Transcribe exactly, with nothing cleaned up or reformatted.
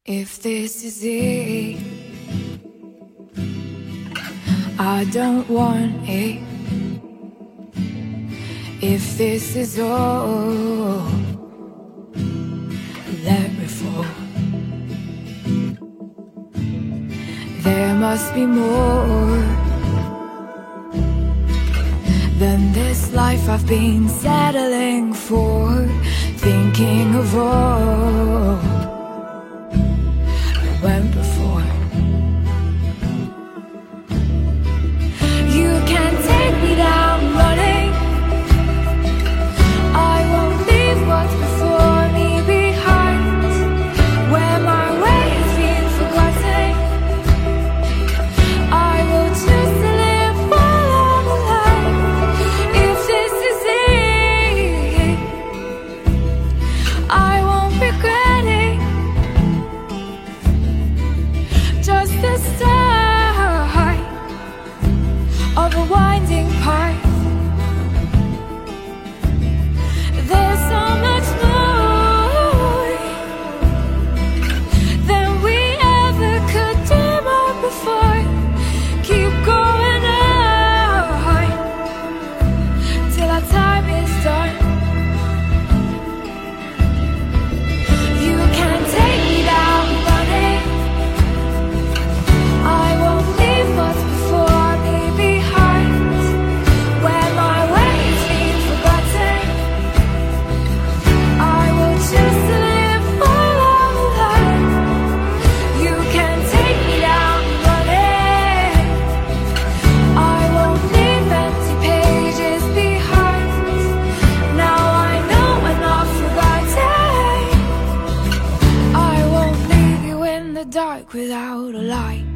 If this is it, I don't want it. If this is all, let me fall. There must be more than this life I've been settling for, thinking of all that went before. You can't take me down running. I won't leave what's before me behind, where my way has been forgotten. I will choose to live while I'm alive. If this is it, I won't regret it. Just the start of a winding path. There's so much more than we ever could dream of before. Keep going on till our time is done. You can't take me down running. I won't leave what's before me behind, where my way has been forgotten. I will choose to live while I'm alive. You can't take me down running. I won't leave empty pages behind. Now I know I'm not forgotten. I won't leave you in the dark without a light.